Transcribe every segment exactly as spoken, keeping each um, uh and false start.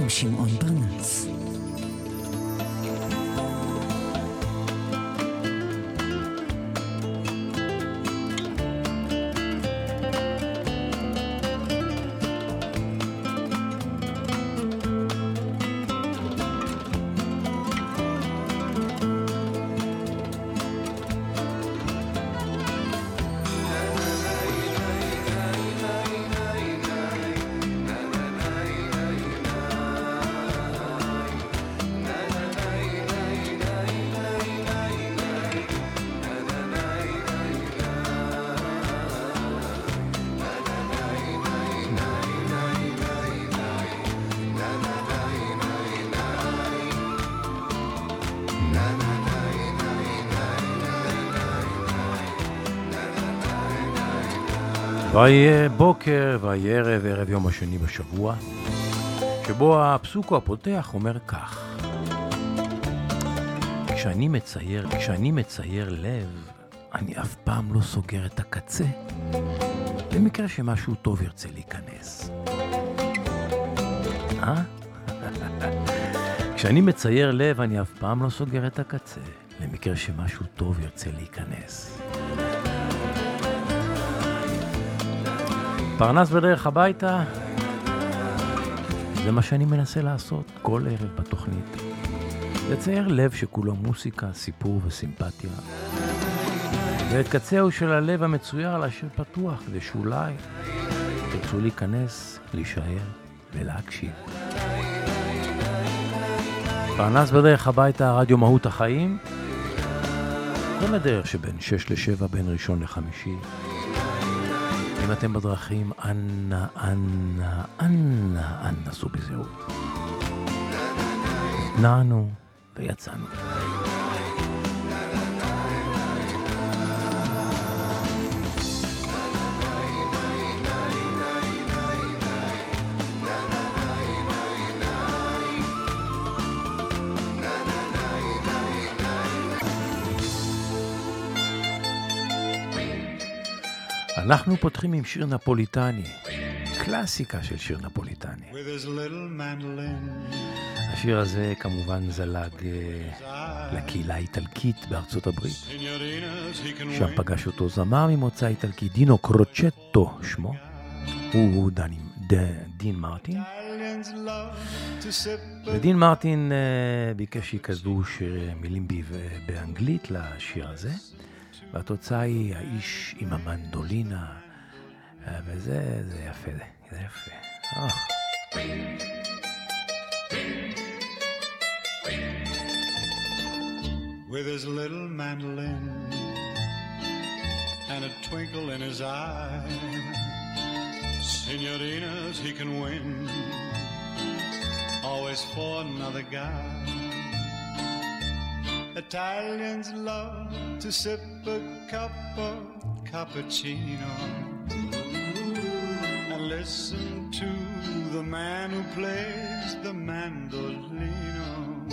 עם שמעון ברנץ. ויהיה בוקר ויהיה ערב, ערב יום השני בשבוע, שבו הפסוק הפותח אומר כך: כשאני מצייר, כשאני מצייר לב, אני אף פעם לא סוגר את הקצה, במקרה שמשהו טוב ירצה להיכנס. אה? כשאני מצייר לב, אני אף פעם לא סוגר את הקצה, למקרה שמשהו טוב ירצה להיכנס. פרנס בדרך הביתה, זה מה שאני מנסה לעשות כל ערב בתוכנית. לצייר לב שכולו מוסיקה, סיפור וסימפתיה. ואת קצהו של הלב המצויר להשאיר פתוח, כדי שאולי תרצו להיכנס, להישאר ולהקשיב. פרנס בדרך הביתה, רדיו מהות החיים. כל הדרך שבין שש לשבע, בין ראשון לחמישי. אם אתם בדרכים, אנא, אנא, אנא, אנא, סעו בזהירות. נענו ויצאנו. אנחנו פותחים עם שיר נפוליטני, קלאסיקה של שיר נפוליטני. השיר הזה כמובן זלג לקהילה האיטלקית בארצות הברית. שם פגש אותו זמר ממוצא איטלקי, דינו קרוצ'טו שמו, הוא דני, ד, דין מרטין. ודין מרטין ביקש שיקדשו מילים באנגלית לשיר הזה. והתוצאה היא האיש עם המנדולינה, וזה זה יפה, זה יפה. Oh. With his little mandolin and a twinkle in his eye, Signorinas he can win, always for another guy. Italians love to sip a cup of cappuccino and listen to the man who plays the mandolino.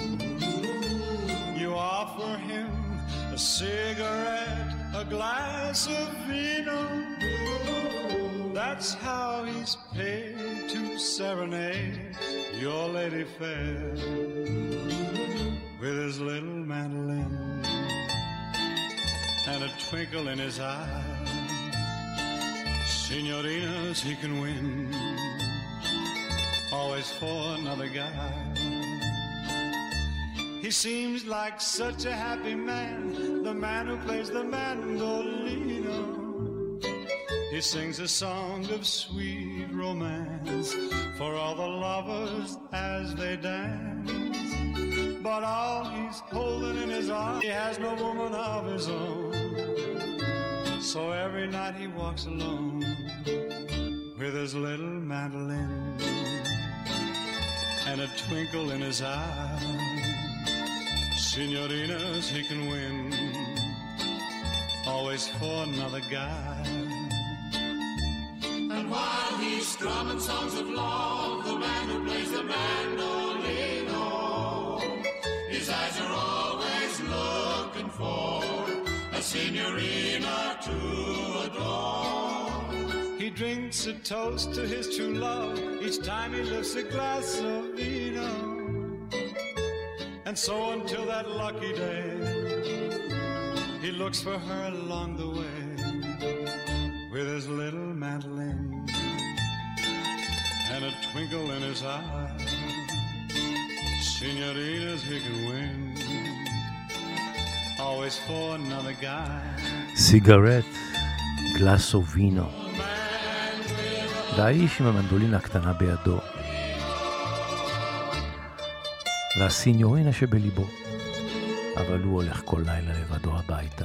You offer him a cigarette, a glass of vino. That's how he's paid to serenade your lady fair. With his little mandolin and a twinkle in his eye, Signorinas he can win, always for another guy. He seems like such a happy man, the man who plays the mandolino. He sings a song of sweet romance for all the lovers as they dance. But all he's holding in his arms, he has no woman of his own. So every night he walks alone with his little mandolin and a twinkle in his eye. Signorinas he can win, always for another guy. And while he's strumming songs of love, the man who plays the mandolino, his eyes are always looking for a signorina to adore. He drinks a toast to his true love each time he lifts a glass of vino. And so until that lucky day, he looks for her along the way with his little mandolin and a twinkle in his eye. Senoritas he can win, always for another guy. סיגרט, גלאסו וינו. והאיש עם המנדולינה הקטנה בידו. והסיניורינה שבליבו. אבל הוא הולך כל לילה לבדו הביתה.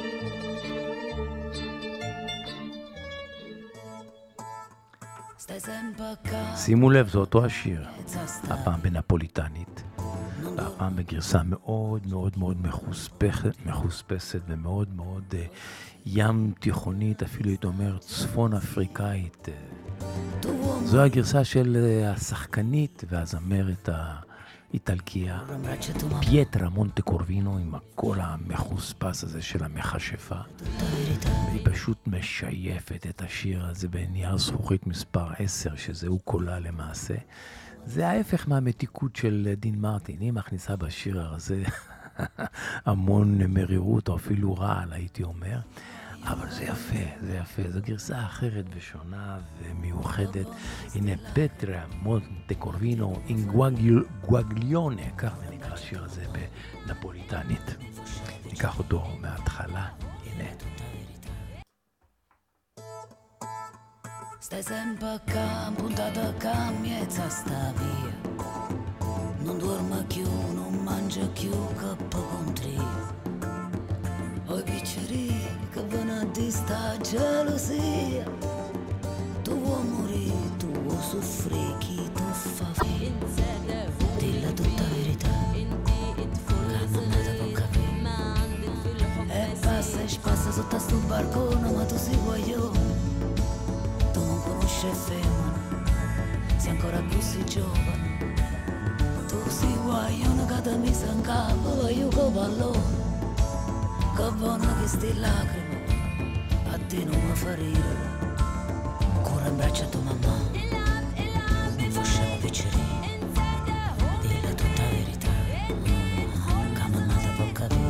שימו לב, זה אותו השיר. הפעם בנפוליטנית. והפעם בגרסה מאוד מאוד מאוד מחוספסת, מחוספסת ומאוד מאוד uh, ים תיכונית, אפילו הייתי אומר צפון אפריקאית. זו הגרסה של uh, השחקנית והזמרת האיטלקיה פייטרה מונטקורבינו, עם הקול המחוספס הזה של המכשפה. והיא פשוט משייפת את השיר הזה בנייר זכוכית מספר עשר, שזהו קולה למעשה. זה ההפך מהמתיקות של דין מרטין. היא מכניסה בשיר הזה המון מרירות, או אפילו רעל, הייתי אומר. אבל זה יפה, זה יפה. זו גרסה אחרת ושונה ומיוחדת. הנה פטרה מונטקורבינו עם גואגליונה, כך זה נקרא השיר הזה בנפוליטנית. ניקח אותו מההתחלה. הנה. Stai sempre acá, puntata acá, miezza sta via. Non dorma più, non mangia più, che poco contri. Oi picceri, che vanno a di sta gelosia. Tu vuoi morire, tu vuoi soffrire, chi tu fa finta. Dilla tutta verità, che mamma te può capire. E passa e spassa sotto sto barcone, ma tu sei guaglione. Conosce femmina, sei ancora così giovane. Tu sei guaglione che ti mise in capo, io che pallone. Che buona che sti lacrime, a te non mi fa ridere. Ancora in braccio a tua mamma, non facciamo piacere. Dilla tutta verità, che mamma ti può capire.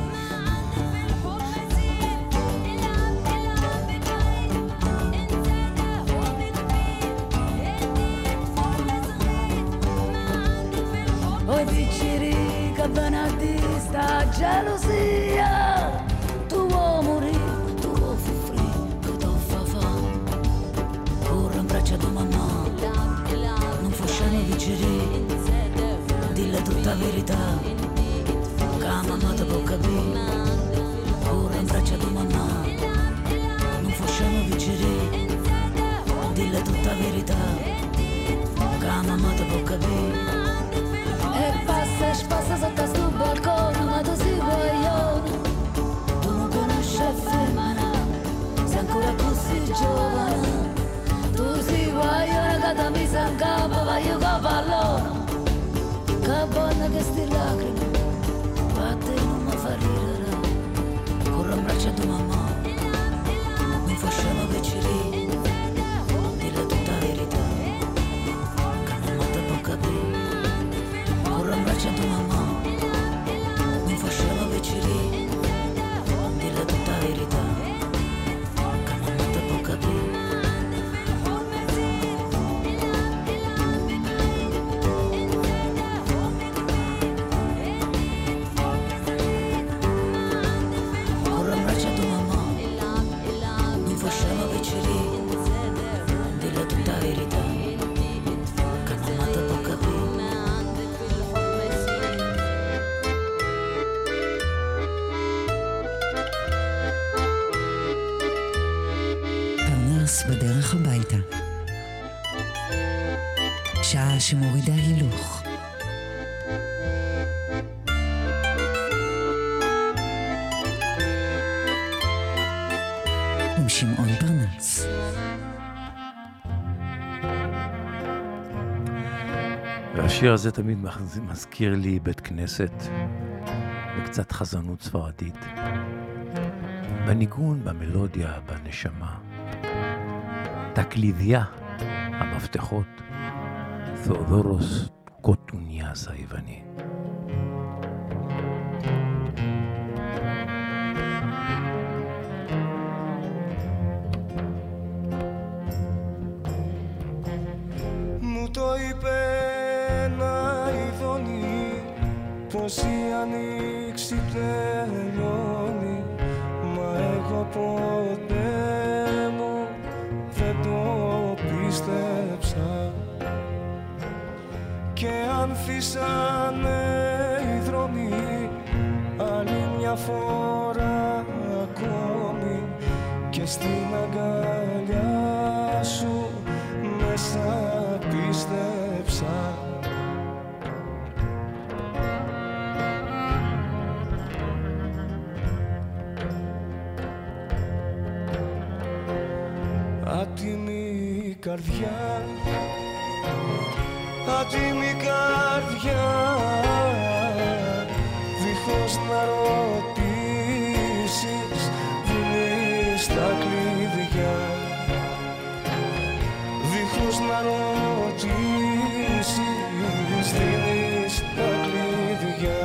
Oi picciri, che benedista gelosia. Tu vuoi morire, tu vuoi soffrire, che tu fa fame. Corri in braccio a tua mamma, non facciamo picciri. Dille tutta verità, che mamma ti può capire. Corri in braccio a tua mamma, non facciamo picciri. Dille tutta verità, che mamma ti può capire. E passa e spassa sotto sto balcone, ma tu sei guaglione. Tu non conosci femmina, sei ancora così giovane. Tu sei guaglione che ti mise in capo, ma io che pallone. Che buona che sti lacrime, ma te non mi fa ridere. Corro in braccio a tua mamma, non facciamo piacere. Dille tutta verità, che mamma ti può capire. Corro in braccio a tua mamma, non facciamo piacere. Dille tutta verità, che mamma ti può capire. Corro in braccio a tua mamma, non facciamo piacere. Dille tutta verità, che mamma ti può capire. בדרך הביתה. שעה שמורידה הילוך. עם שמעון פרנס. והשיר הזה תמיד מזכיר לי בית כנסת וקצת חזנות ספרדית. בניגון, במלודיה, בנשמה. τα κλειδιά, αμαυτεχότ, Θεοδόρος Κοτουνιά Ζαϊβανή. Μου το είπε ένα ειδώνει πως η ανοίξη τελειώνει, μα εγώ ποτέ μου δεν το πίστεψα. Και ανθίσανε οι δρόμοι άλλη μια φορά ακόμη, και στην αγκαλιά σου μέσα πίστεψα. Άτιμη καρδιά, άτιμη καρδιά, δίχως να ρωτήσεις δίνεις τα κλειδιά. Δίχως να ρωτήσεις δίνεις τα κλειδιά.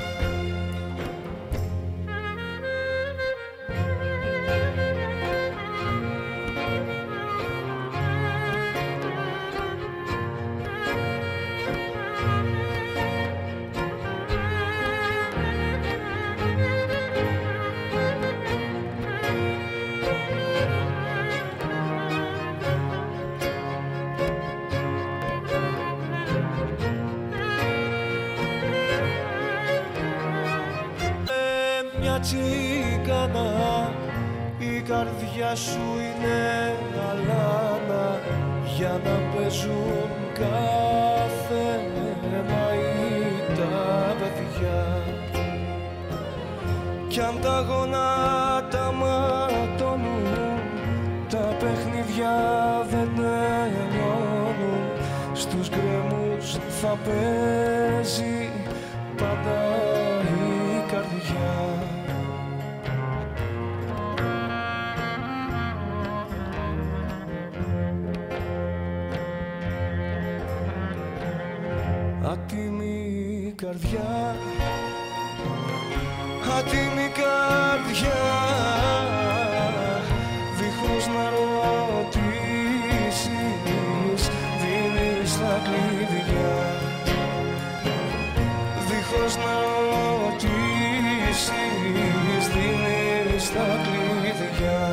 Τσίκανα, η καρδιά σου είναι αλάνα, για να παίζουν κάθε μαΐ τα παιδιά. Κι αν τα γονάτα ματώνουν, τα παιχνίδια δεν τελειώνουν, στους γκρεμούς θα παίζει πάντα η καρδιά. Άτιμη καρδιά, άτιμη καρδιά, δίχως να ρωτήσεις δίνεις τα κλειδιά. Δίχως να ρωτήσεις δίνεις τα κλειδιά.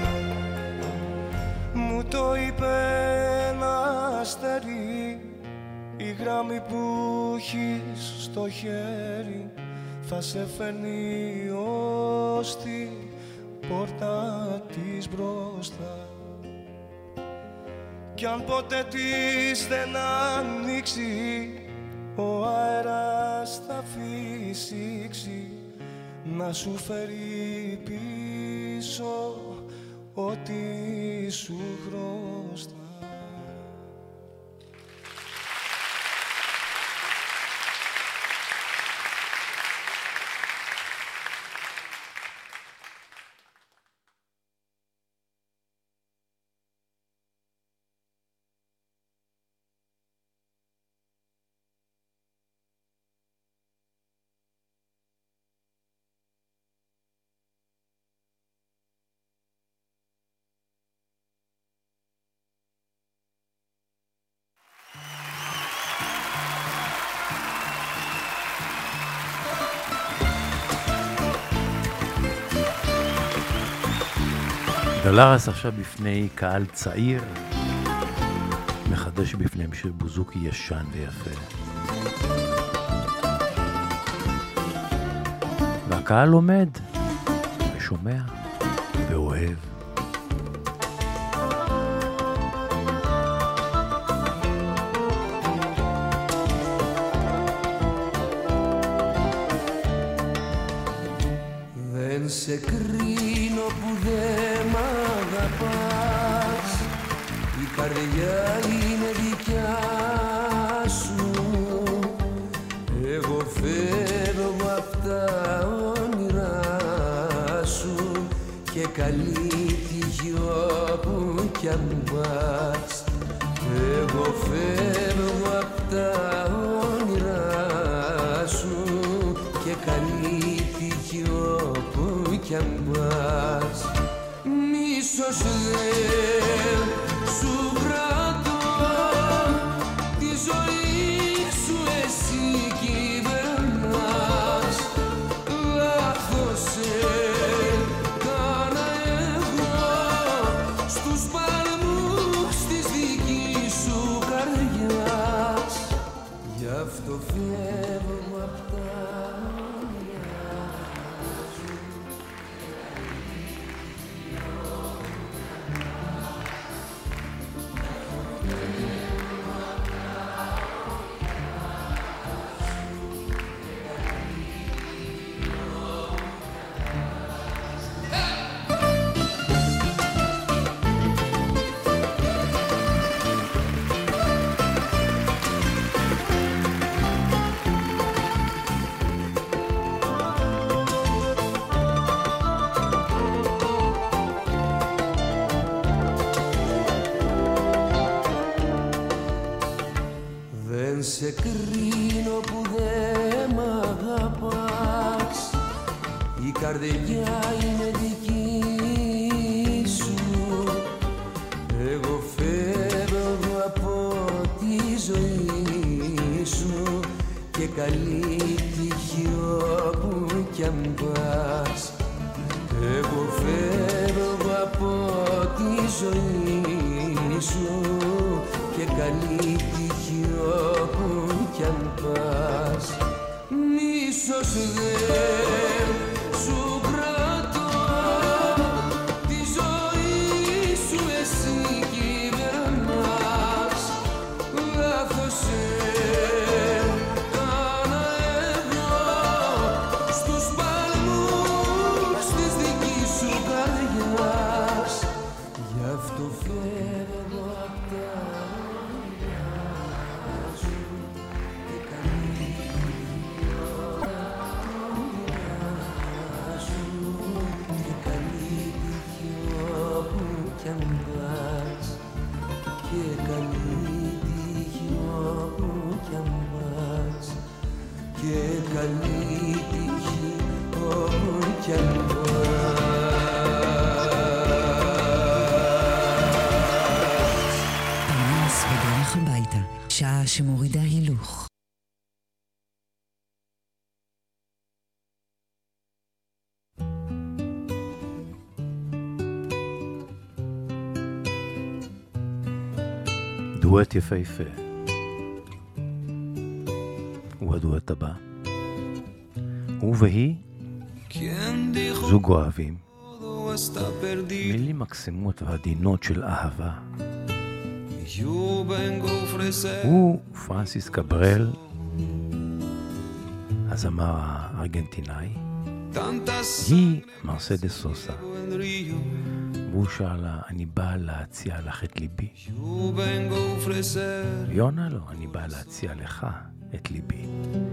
Μου το είπε ένα αστέρι, η γράμμη που έχεις στο χέρι θα σε φέρνει ως την πόρτα της μπροστά. Κι αν ποτέ της δεν ανοίξει, ο αέρας θα φυσήξει να σου φέρει πίσω ό,τι σου χρωστά. דולרס עכשיו בפני קהל צעיר, מחדש בפניהם שיר בוזוקי ישן ויפה. והקהל עומד ושומע ואוהב. Δεν σε κρίνω που δεν μ' αγαπάς, η καρδιά είναι δικιά σου. Εγώ φεύγω απ' τα όνειρά σου και καλή τύχη όπου κι αν πας. Εγώ φεύγω απ' τα όνειρά σου και καλή τύχη όπου κι αν πας. Μίσος δεν σου κρατώ, τη ζωή σου εσύ κυβερνάς. Λάθος έκανα εγώ στους παλμούς της δικής σου καρδιάς. Γι' αυτό φεύγω απ' τα όνειρά σου. Σε κρίνω που δεν μ' αγαπάς. Η καρδιά είναι δική σου. Εγώ φεύγω από τη ζωή σου και καλή τύχη όπου κι αν πας. Εγώ φεύγω από τη ζωή σου και καλή τύχη όπου κι αν πας. Μίσος δεν σου κρατώ, τη ζωή σου εσύ κυβερνάς. Λάθος έκανα εγώ στους παλμούς της δικής σου καρδιάς. Γι' αυτό φεύγω απ' τα שעה שמורידה הילוך. דואט יפהפה. הוא הדואט הבא. הוא והיא זוג אוהבים. מילים מקסימות ועדינות של אהבה. הוא פרנסיס קברל, הזמר הארגנטינאי. היא מרסדס סוסה. והוא שאלה, אני באה להציע לך את ליבי. יונה לו, אני באה להציע לך את ליבי.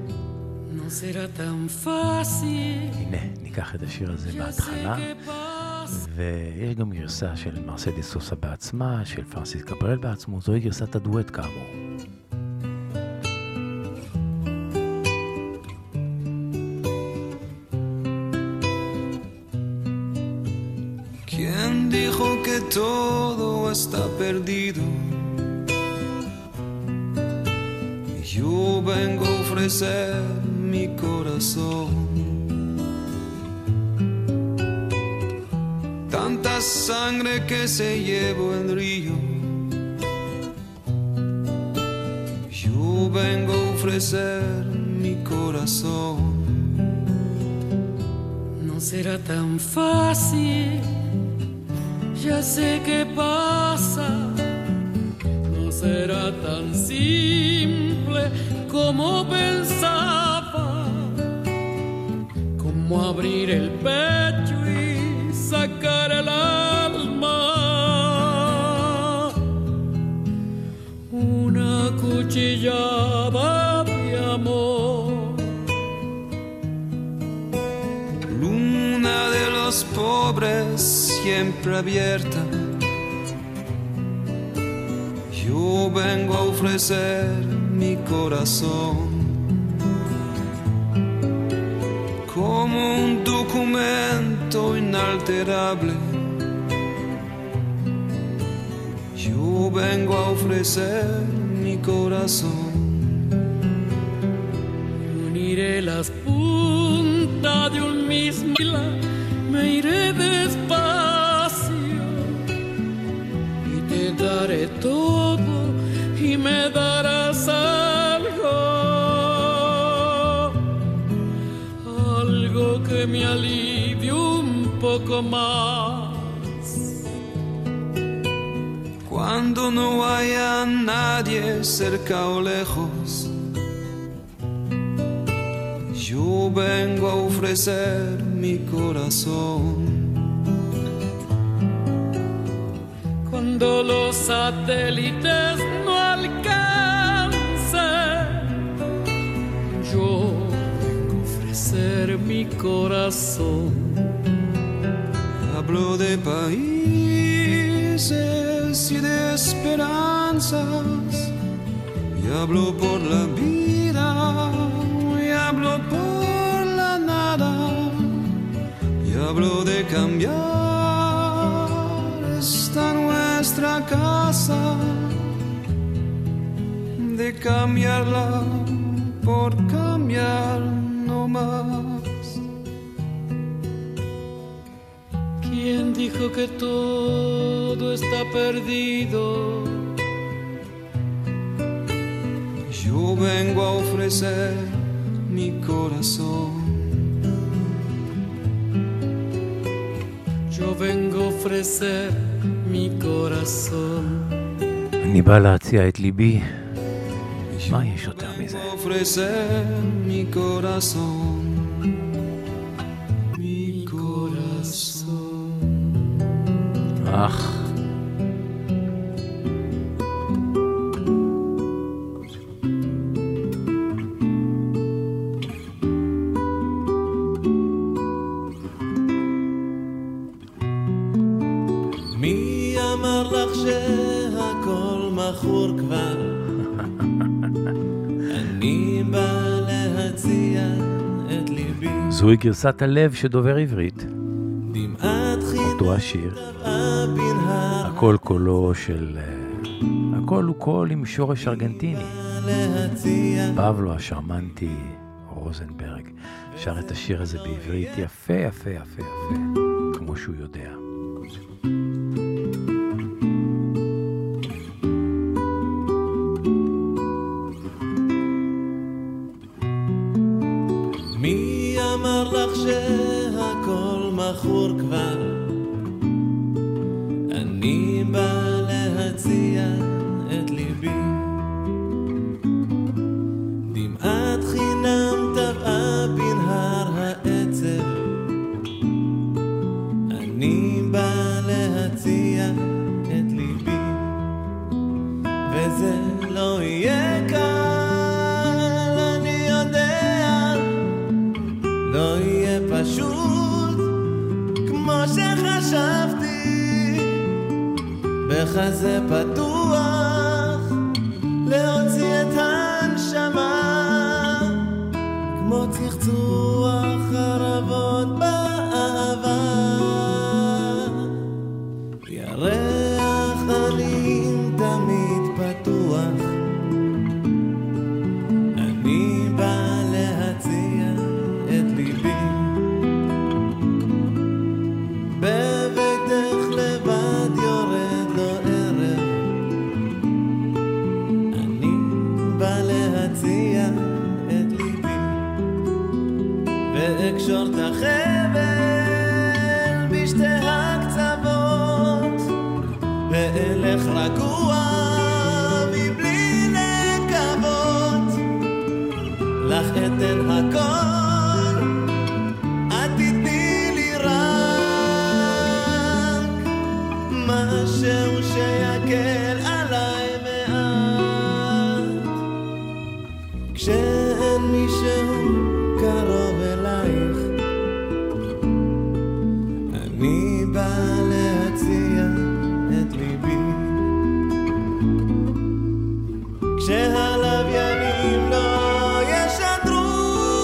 הנה, ניקח את השיר הזה בהתחלה. ויש גם גרסה של מרסדס סוסה בעצמה, של פרנסיס קברל בעצמו, זוהי גרסת הדואט כאמור. ¿Quién dijo que todo está perdido? Yo vengo a ofrecer mi corazón. Tanta sangre que se llevó el río. Yo vengo a ofrecer mi corazón. No será tan fácil, ya sé qué pasa. No será tan simple como pensaba, como abrir el pecho y sacar el alma. Una cuchillada de amor. Luna de los pobres siempre abierta. Yo vengo a ofrecer mi corazón como un documento inalterable. Yo vengo a ofrecer mi corazón. Uniré las puntas de un mismo hilo, me iré despacio y te daré todo y me darás algo, algo que me alivie un poco más. Cuando no haya nadie cerca o lejos, yo vengo a ofrecer mi corazón. Cuando los satélites no alcancen, yo vengo a ofrecer mi corazón. Hablo de países y de esperanzas, y hablo por la vida, y hablo por la nada, y hablo de cambiar esta nuestra casa, de cambiarla por cambiar no más. ¿Quién dijo que todo está perdido? Yo vengo a ofrecer mi corazón. Yo vengo a ofrecer mi corazón. אני בא להציע את ליבי. מה יש יותר מזה? ofrecer mi corazón. Mi corazón. אך. בחור כבר אני בא להציע את ליבי זוהי גרסת הלב שדובר עברית דמעת אותו השיר בנהר הכל קולו של הכל הוא קול עם שורש ארגנטיני להציע פבלו השרמנטי רוזנברג שר את השיר הזה בעברית יפה יפה יפה יפה כמו שהוא יודע מי אמר לך שהכל מכור כבר אני בא להציע את ליבי דמעת חינם טבעה בנהר העצב אני בא להציע את ליבי וזה לא יהיה קל אני יודע לא יהיה פשוט כמו שחשבתי בחזה פתוח להוציא את הנשמה כמו צחצוח חרבות באהבה ירח עלים תמיד פתוח אני בא להציע את ליבי בביתך לבד יורד לו ערב אני בא להציע את ליבי ואקשור את החבל בשתי הקצוות ואלך רגוע מבלי לקוות לך אתן הכל את תתני לי רק משהו שיקל עליי מעט כשאין מישהו קרוב אלייך אני בא להציע את ליבי שהלוויינים לא ישדרו.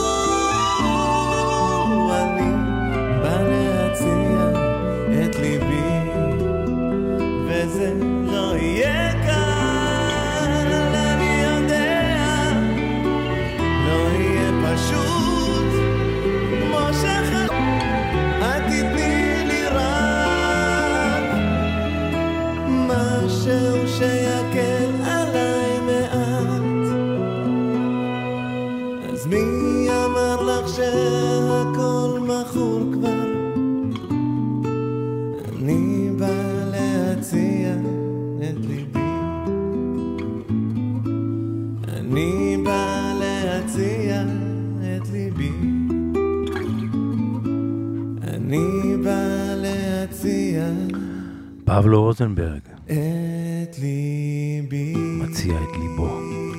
אני בא להציע את ליבי, וזה לא יהיה קל, אני יודע, לא יהיה פשוט כמו שחד. את תתני לי רק משהו שיקל עליי מעט. אז מי אמר לך שהכל מכור כבר? אני בא להציע את ליבי, אני בא להציע את ליבי, אני בא להציע פבלו רוזנברג את ליבי, מציע את ליבו.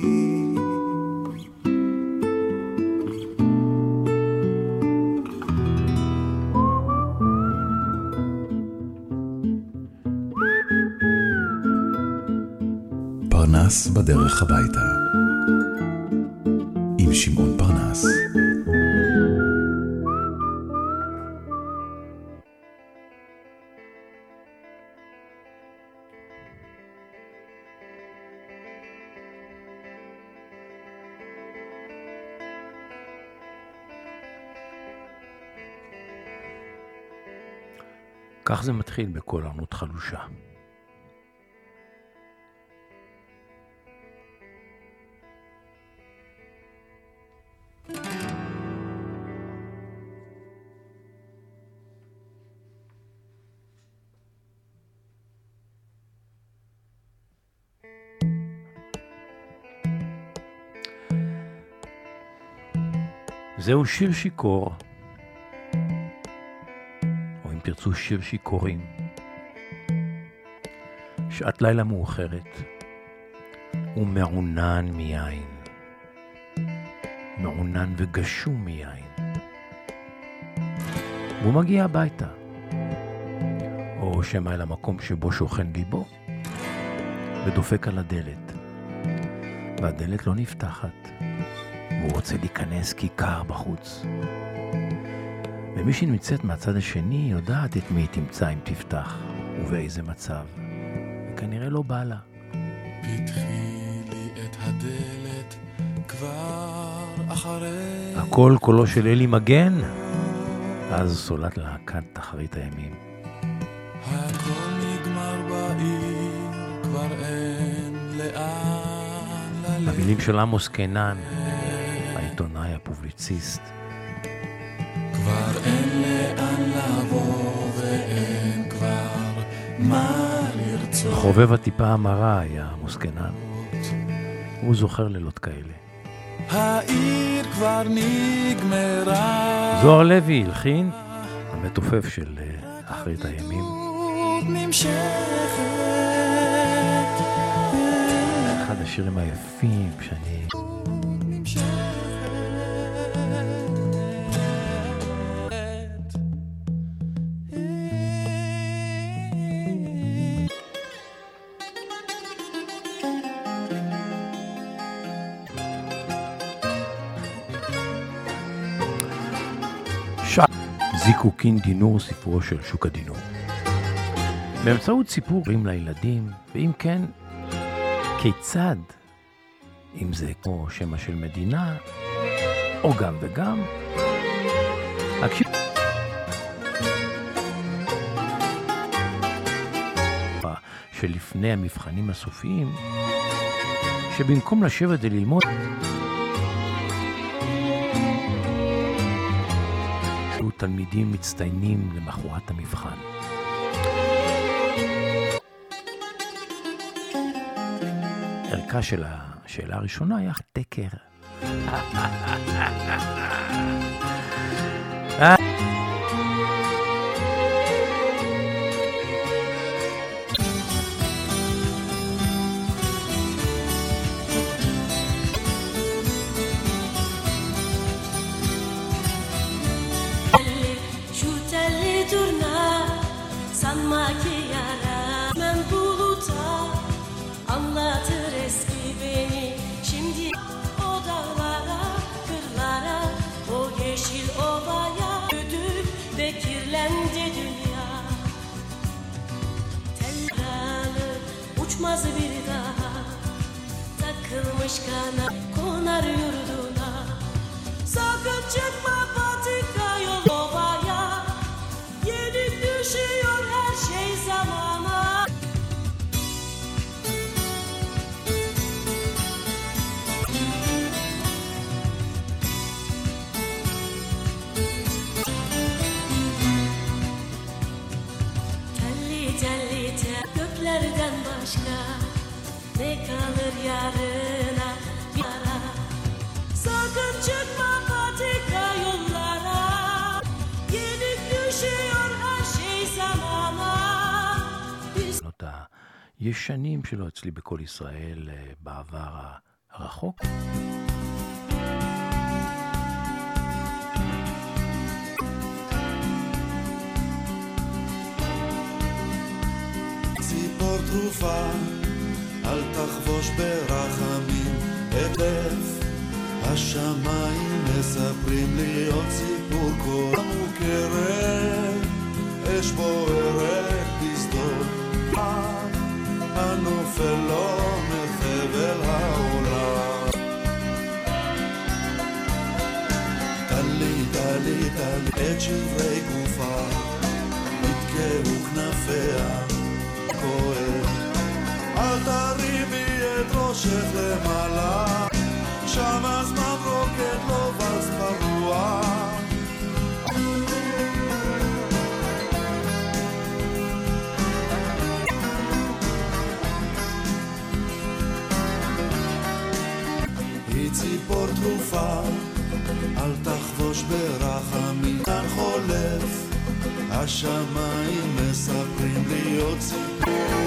פרנס בדרך הביתה עם שמעון פרנס. כך זה מתחיל בכל ערנות חלושה. זהו שיר שיקור, או אם תרצו שיר שיכורים. שעת לילה מאוחרת, ומעונן מיין, מעונן וגשום מיין. והוא מגיע הביתה, או שמא אל המקום שבו שוכן ליבו, ודופק על הדלת, והדלת לא נפתחת. והוא רוצה להיכנס כי קר בחוץ. ומי שנמצאת מהצד השני יודעת את מי היא תמצא אם תפתח, ובאיזה מצב. וכנראה לא בא לה. פתחי לי את הדלת כבר אחרי... הכל קולו של אלי מגן, אז סולת להקת תחרית הימים. הכל נגמר בעיר, כבר אין לאן ללכת. המילים של עמוס קינן, העיתונאי הפובליציסט. כבר אין לאן לבוא ואין כבר מה לרצות. חובב הטיפה המרה היה עמוס קינן. הוא זוכר לילות כאלה. העיר כבר נגמרה. זוהר לוי הלחין, המתופף של אחרית הימים. נמשכת. אחד השירים היפים שאני... זיקוקין דינור, סיפורו של שוק הדינור. באמצעות סיפורים לילדים, ואם כן, כיצד, אם זה כמו שמה של מדינה, או גם וגם, הקשיב... שלפני המבחנים הסופיים, שבמקום לשבת וללמוד, תלמידים מצטיינים למחרת המבחן. ערכה של השאלה הראשונה היה תקר. Makiara ben buluta anlatır eski beni bir daha takılmış kana konar yurduna. Sakın çıkma patika yol ovaya, yenik düşüyor her şey zamana. Telli telli tel göklerden başka ne kalır yarına yara. Sakın çıkma patika yollara, yenik düşüyor her şey zamana. הישנים שלו אצלי בכל ישראל בעבר הרחוק. ציפור תרופה, אל תחבוש ברחמים את לב. השמיים מספרים לי עוד סיפור כה מוכרת, אש בוערת בשדות, הנופל לא מחבל העולם. תלי תלי תלי את שברי גופה, נתקעו כנפיה כואב. אל תרימי את ראשך למעלה, שם הזמן רוקד לו ואז ברוח. היא ציפור תרופה, אל תחבוש ברחמים. כאן חולף, השמיים מספרים לי עוד סיפור.